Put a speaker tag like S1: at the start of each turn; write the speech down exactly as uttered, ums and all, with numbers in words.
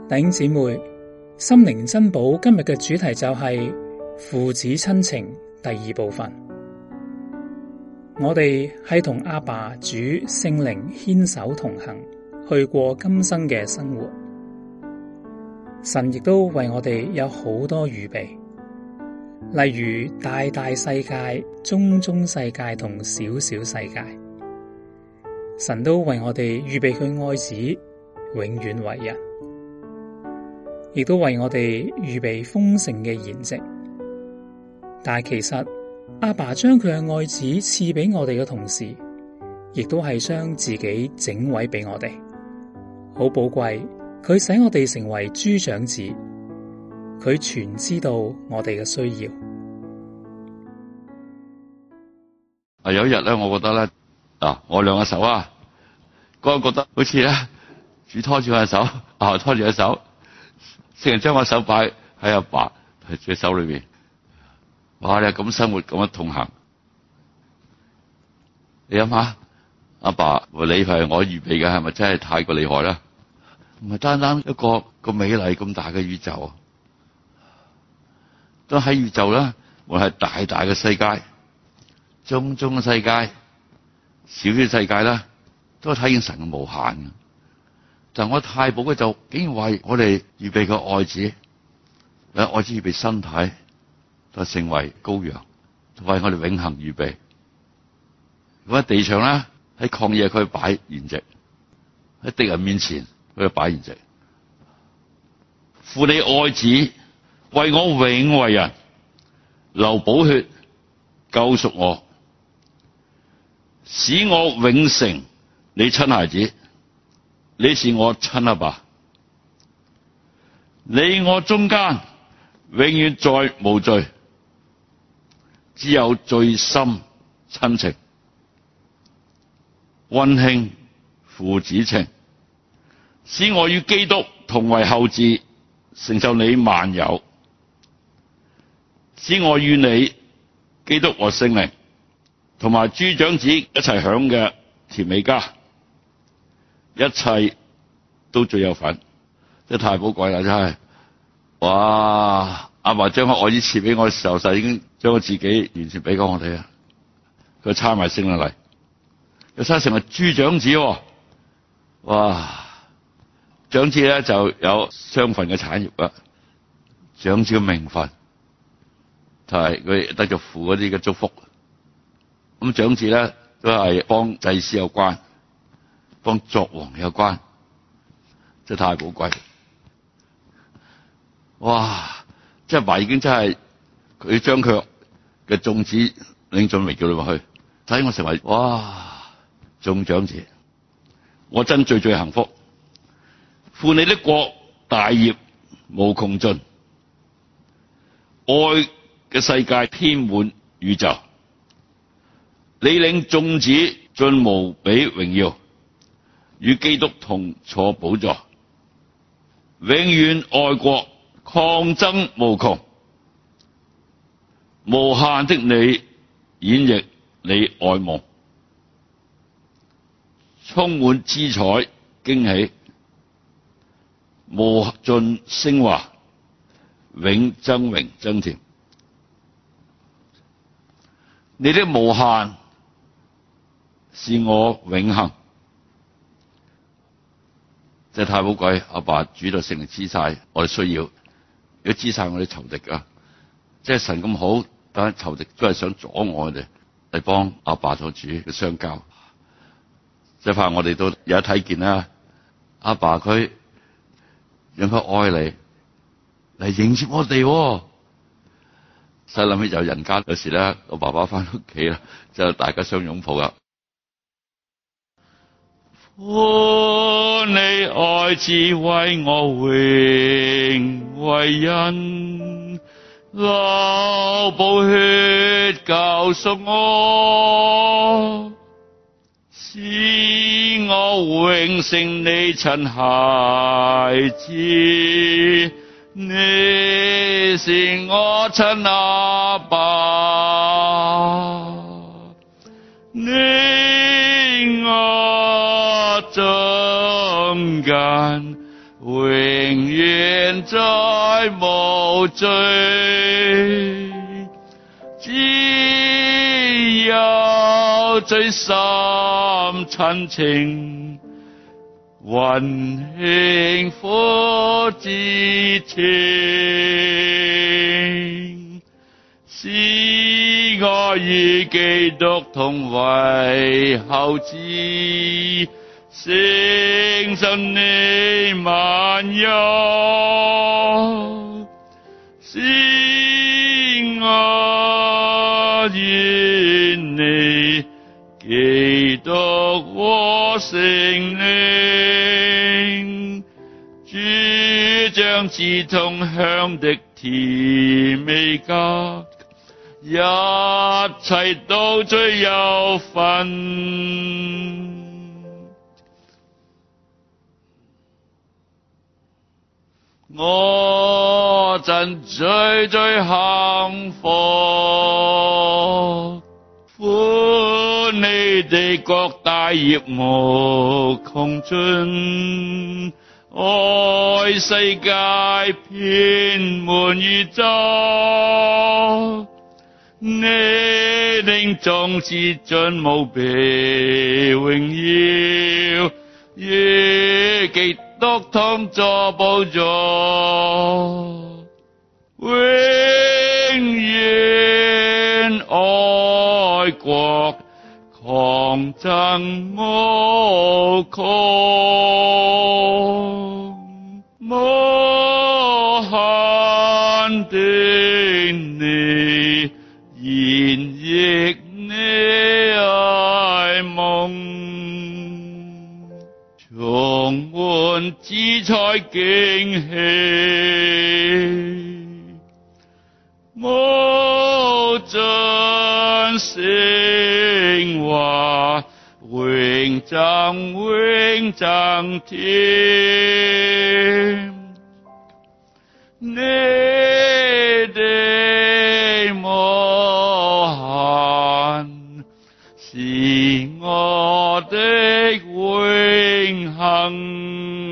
S1: 弟兄姊妹，心靈珍寶今日嘅主題就係父子親情第二部分。我哋係同阿爸主聖靈牽手同行，去過今生嘅生活。神亦都為我哋有好多預備，例如大大世界、中中世界同小小世界。神都為我哋預備佢愛子，永遠為人。亦都為我哋預備豐盛嘅筵席，但係其實阿爸將佢嘅愛子賜俾我哋嘅同時，亦都係將自己整位俾我哋，好寶貴。佢使我哋成為諸長子，佢全知道我哋嘅需要。
S2: 啊，有一日咧，我覺得咧，啊，我兩個手啊，嗰個覺得好似咧，主拖住我嘅手，啊，拖住我手。聖人將我手擺喺阿爸嘅手裏邊，哇！你係咁生活，咁樣同行，你諗下，阿爸，你係我預備嘅，係咪真係太過厲害啦？唔係單單一個個美麗咁大嘅宇宙，都喺宇宙啦，無論係大大嘅世界、中中嘅世界、小小世界啦，都係睇見神嘅無限嘅。但我太寶嘅就竟然為我哋預備個愛子，誒，愛子預備身體，就成為羔羊，為我哋永恆預備。咁喺地上咧，喺曠野佢擺筵席，喺敵人面前佢就擺筵席。父你愛子為我永為人，流寶血救贖我，使我永成你親孩子。你是我親阿爸，你我中間永遠再無罪，只有最深親情、溫馨父子情，使我與基督同為後嗣，承受你萬有，使我與你基督和聖靈同埋諸長子一齊享嘅甜美家。一切都最有份，真係太寶貴啦！真係，哇！阿爸將個愛子賜俾我嘅時候，就已經將我自己完全俾過我哋啊！佢差埋聖靈嚟，又差成為諸長子，哇！長子咧就有雙份嘅產業啦，長子嘅名分，就係佢得咗父嗰啲嘅祝福。咁長子咧都係幫祭司有關。幫作王有關，真係太寶貴。哇！即係爸已經真係佢將佢嘅眾子領進榮耀裏去，使我成為哇眾長子。我真最最幸福。父你的國大業無窮盡，愛嘅世界遍滿宇宙。你領眾子進無比榮耀，與基督同坐寶座，永遠愛國，抗爭無窮，無限的你演繹你愛夢，充滿姿彩驚喜，無盡昇華，永增榮增甜。你的無限是我永恆。真係太寶貴，阿爸主到聖靈知晒我哋需要，如果知晒我哋仇敵啊，即係神咁好，但係仇敵都係想阻我哋嚟幫阿爸同主嘅相交，即係怕我哋都有得睇見啦。阿爸佢讓佢愛你嚟迎接我哋，細諗起就人間有時咧，我爸爸翻屋企啦，就大家相擁抱啦。父你愛子為我永為人，流寶血救贖我，使我永成你親孩子。你是我親阿爸，你我中間永永遠再無罪，只有最深親情，溫馨父子情，使我與基督同為後嗣，承受你萬有，使我與你基督和聖靈，主長子同享的甜美家，一切都最有份。我真最最幸福，父你的國大業無窮盡，愛世界遍滿宇宙，你領眾至盡無比榮耀，與基督同坐寶座，永遠愛國狂爭無窮，無限的你演繹你愛夢，充滿姿彩驚喜，無盡聖話，永增永增添，你的無限是我的永恆。